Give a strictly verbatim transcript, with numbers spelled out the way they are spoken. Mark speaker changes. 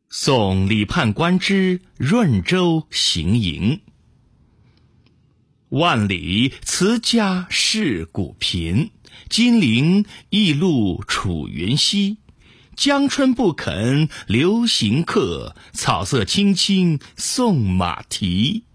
Speaker 1: 送李判官之润州行营。万里辞家是古贫，金陵驿路楚云西。江春不肯留行客，草色青青送马蹄。